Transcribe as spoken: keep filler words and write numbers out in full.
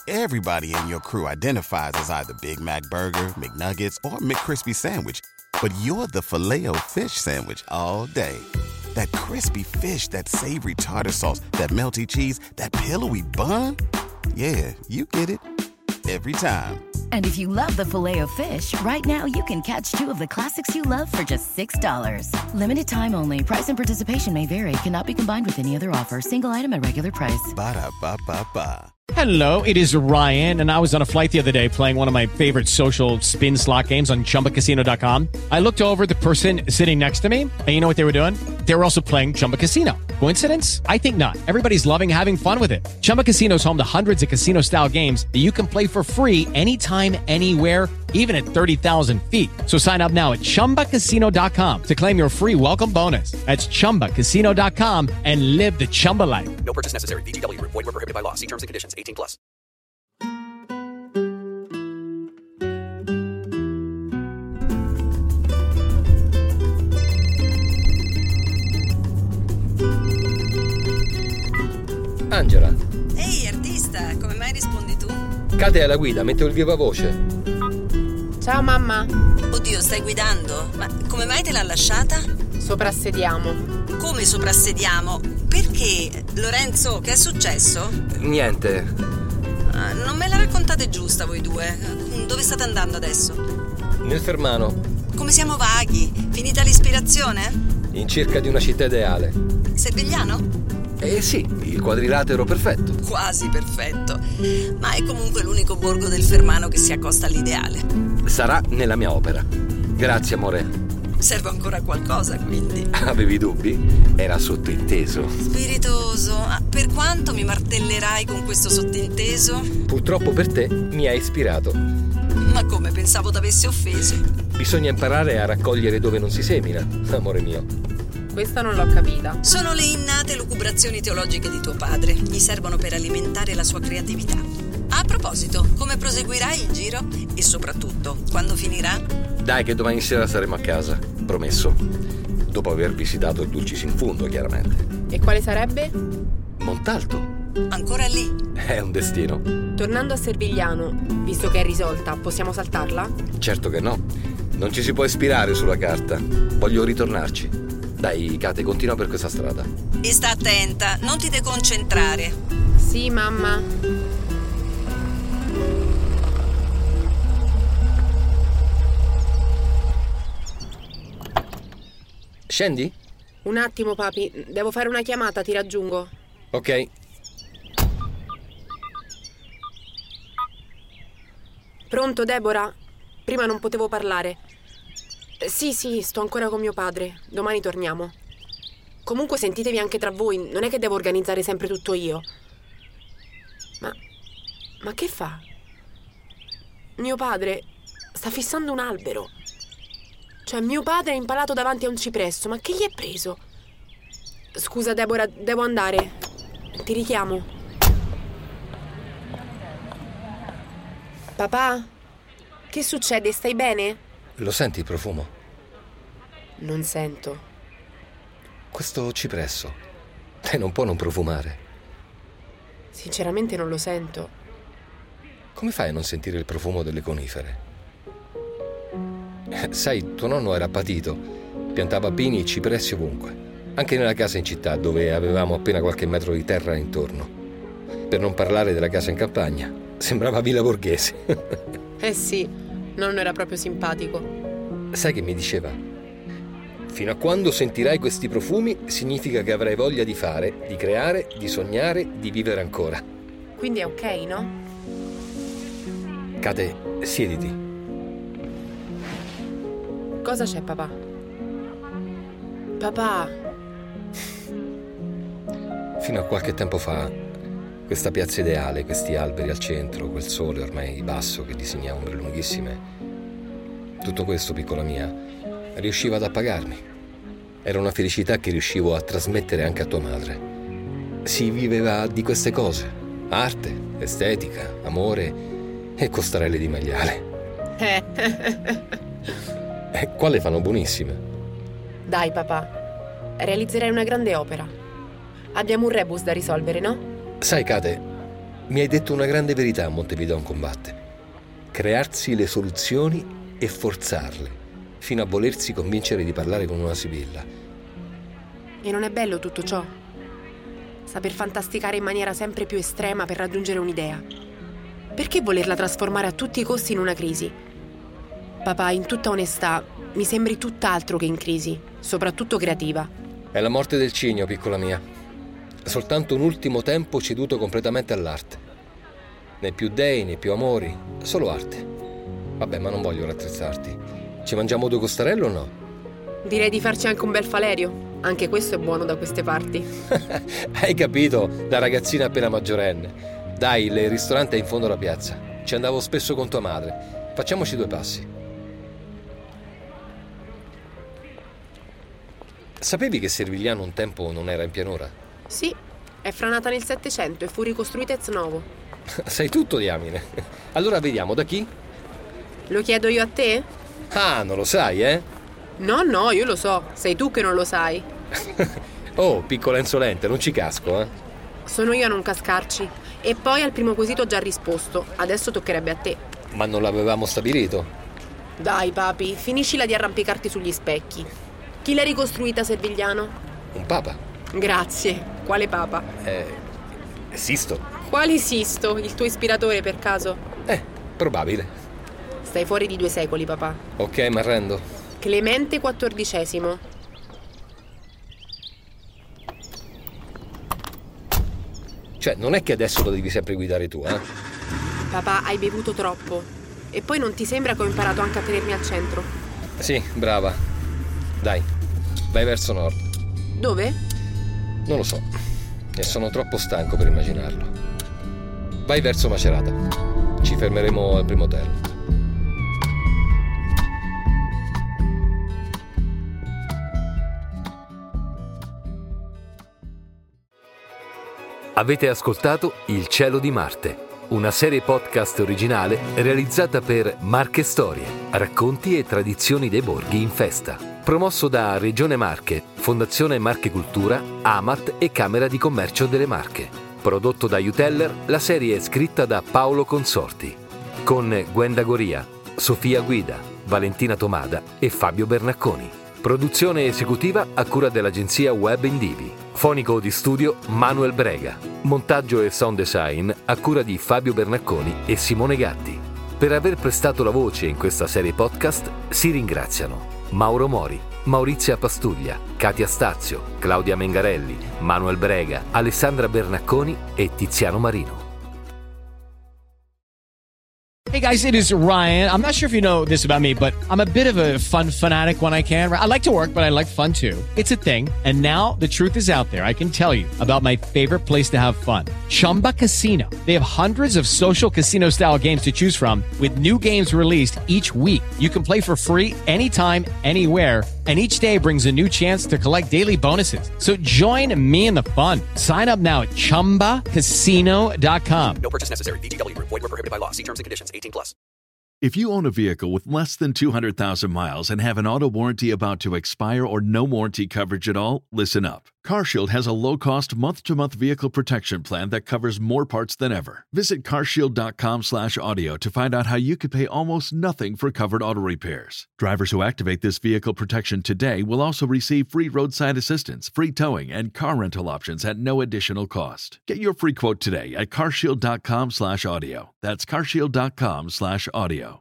Everybody in your crew identifies as either Big Mac Burger, McNuggets, or McCrispy Sandwich. But you're the Filet-O-Fish Sandwich all day. That crispy fish, that savory tartar sauce, that melty cheese, that pillowy bun. Yeah, you get it. Every time. And if you love the Filet-O-Fish, right now you can catch two of the classics you love for just six dollars. Limited time only. Price and participation may vary. Cannot be combined with any other offer. Single item at regular price. Ba-da-ba-ba-ba. Hello, it is Ryan, and I was on a flight the other day playing one of my favorite social spin slot games on Chumba Casino dot com. I looked over at the person sitting next to me, and you know what they were doing? They were also playing Chumba Casino. Coincidence? I think not. Everybody's loving having fun with it. Chumba Casino is home to hundreds of casino-style games that you can play for free anytime, anywhere, even at thirty thousand feet. So sign up now at Chumba Casino dot com to claim your free welcome bonus. That's Chumba Casino dot com and live the Chumba life. No purchase necessary. V G W. Void where prohibited by law. See terms and conditions. eighteen plus. Angela. Ehi, artista, come mai rispondi tu? Cade è alla guida, metto il viva voce. Ciao mamma. Oddio, stai guidando? Ma come mai te l'ha lasciata? Soprassediamo. Come soprassediamo? Perché? Lorenzo, che è successo? Niente. Ah, non me la raccontate giusta voi due. Dove state andando adesso? Nel Fermano. Come siamo vaghi? Finita l'ispirazione? In cerca di una città ideale. Servigliano? Eh sì, il quadrilatero perfetto. Quasi perfetto. Ma è comunque l'unico borgo del Fermano che si accosta all'ideale. Sarà nella mia opera. Grazie, amore. Serve ancora qualcosa, quindi. Avevi dubbi? Era sottointeso. Spiritoso. Ah, per quanto mi martellerai con questo sottinteso? Purtroppo per te mi hai ispirato. Ma come, pensavo t'avessi offeso. Bisogna imparare a raccogliere dove non si semina, amore mio. Questa non l'ho capita. Sono le innate lucubrazioni teologiche di tuo padre. Gli servono per alimentare la sua creatività. A proposito, come proseguirai il giro? E soprattutto, quando finirà? Dai che domani sera saremo a casa, promesso. Dopo aver visitato il Dulcis in Fundo, chiaramente. E quale sarebbe? Montalto. Ancora lì? È un destino. Tornando a Servigliano, visto che è risolta, possiamo saltarla? Certo che no. Non ci si può ispirare sulla carta. Voglio ritornarci. Dai, Kate, continua per questa strada. E sta attenta, non ti deconcentrare. Sì, mamma. Scendi? Un attimo, papi. Devo fare una chiamata, ti raggiungo. Ok. Pronto, Deborah? Prima non potevo parlare. Sì, sì, sto ancora con mio padre. Domani torniamo. Comunque sentitevi anche tra voi, non è che devo organizzare sempre tutto io. Ma... ma che fa? Mio padre sta fissando un albero. Cioè, mio padre è impalato davanti a un cipresso, ma che gli è preso? Scusa, Deborah, devo andare. Ti richiamo. Papà? Che succede? Stai bene? Lo senti il profumo? Non sento. Questo cipresso. Lei non può non profumare. Sinceramente non lo sento. Come fai a non sentire il profumo delle conifere? Eh, sai, tuo nonno era patito. Piantava pini e cipressi ovunque. Anche nella casa in città, dove avevamo appena qualche metro di terra intorno. Per non parlare della casa in campagna. Sembrava villa borghese. Eh sì, nonno era proprio simpatico. Sai che mi diceva? Fino a quando sentirai questi profumi significa che avrai voglia di fare, di creare, di sognare, di vivere ancora. Quindi è ok, no? Kate, siediti. Cosa c'è, papà? Papà! Fino a qualche tempo fa, questa piazza ideale, questi alberi al centro, quel sole ormai basso che disegna ombre lunghissime, tutto questo, piccola mia, riusciva ad appagarmi. Era una felicità che riuscivo a trasmettere anche a tua madre. Si viveva di queste cose: arte, estetica, amore e costarelle di maiale. E qua le fanno buonissime. Dai, papà, realizzerai una grande opera. Abbiamo un rebus da risolvere, no? Sai, Kate, Mi hai detto una grande verità, Montevideo combatte. Crearsi le soluzioni e forzarle, fino a volersi convincere di parlare con una sibilla. E non è bello tutto ciò? Saper fantasticare in maniera sempre più estrema per raggiungere un'idea. Perché volerla trasformare a tutti i costi in una crisi? Papà, in tutta onestà, mi sembri tutt'altro che in crisi, soprattutto creativa. È la morte del cigno, piccola mia. Soltanto un ultimo tempo ceduto completamente all'arte. Né più dei, né più amori, solo arte. Vabbè, ma non voglio rattrezzarti. Ci mangiamo due costarelle o no? Direi di farci anche un bel falerio. Anche questo è buono da queste parti. Hai capito, da ragazzina appena maggiorenne. Dai, il ristorante è in fondo alla piazza. Ci andavo spesso con tua madre. Facciamoci due passi. Sapevi che Servigliano un tempo non era in pianura? Sì, è franata nel Settecento e fu ricostruita ex novo. Sai tutto, diamine. Allora vediamo, da chi? Lo chiedo io a te? Ah, non lo sai, eh? No, no, io lo so. Sei tu che non lo sai. Oh, piccola insolente, non ci casco, eh? Sono io a non cascarci. E poi al primo quesito ho già risposto. Adesso toccherebbe a te. Ma non l'avevamo stabilito? Dai, papi, finiscila di arrampicarti sugli specchi. Chi l'ha ricostruita, Servigliano? Un papa. Grazie. Quale papa? Eh, Sisto. Quale Sisto? Il tuo ispiratore, per caso? Eh, probabile. Stai fuori di due secoli, papà. Ok, mi arrendo. Clemente quattordicesimo. Cioè, non è che adesso lo devi sempre guidare tu, eh? Papà, hai bevuto troppo. E poi non ti sembra che ho imparato anche a tenermi al centro? Sì, brava. Dai, vai verso nord. Dove? Non lo so. E sono troppo stanco per immaginarlo. Vai verso Macerata. Ci fermeremo al primo hotel. Avete ascoltato Il cielo di Marte, una serie podcast originale realizzata per Marche Storie, racconti e tradizioni dei borghi in festa. Promosso da Regione Marche, Fondazione Marche Cultura, Amat e Camera di Commercio delle Marche. Prodotto da Uteller, la serie è scritta da Paolo Consorti. Con Gwenda Goria, Sofia Guida, Valentina Tomada e Fabio Bernacconi. Produzione esecutiva a cura dell'agenzia Web Indivi. Fonico di studio Manuel Brega. Montaggio e sound design a cura di Fabio Bernacconi e Simone Gatti. Per aver prestato la voce in questa serie podcast si ringraziano Mauro Mori, Maurizia Pastuglia, Katia Stazio, Claudia Mengarelli, Manuel Brega, Alessandra Bernacconi e Tiziano Marino. Hey guys, it is Ryan. I'm not sure if you know this about me, but I'm a bit of a fun fanatic when I can. I like to work, but I like fun too. It's a thing. And now the truth is out there. I can tell you about my favorite place to have fun. Chumba Casino. They have hundreds of social casino style games to choose from with new games released each week. You can play for free anytime, anywhere. And each day brings a new chance to collect daily bonuses. So join me in the fun. Sign up now at chumba casino dot com. No purchase necessary. V G W. Void where prohibited by law. See terms and conditions. eighteen plus. If you own a vehicle with less than two hundred thousand miles and have an auto warranty about to expire or no warranty coverage at all, listen up. CarShield has a low-cost month-to-month vehicle protection plan that covers more parts than ever. Visit carshield.com slash audio to find out how you could pay almost nothing for covered auto repairs. Drivers who activate this vehicle protection today will also receive free roadside assistance, free towing, and car rental options at no additional cost. Get your free quote today at carshield.com slash audio. That's carshield.com slash audio.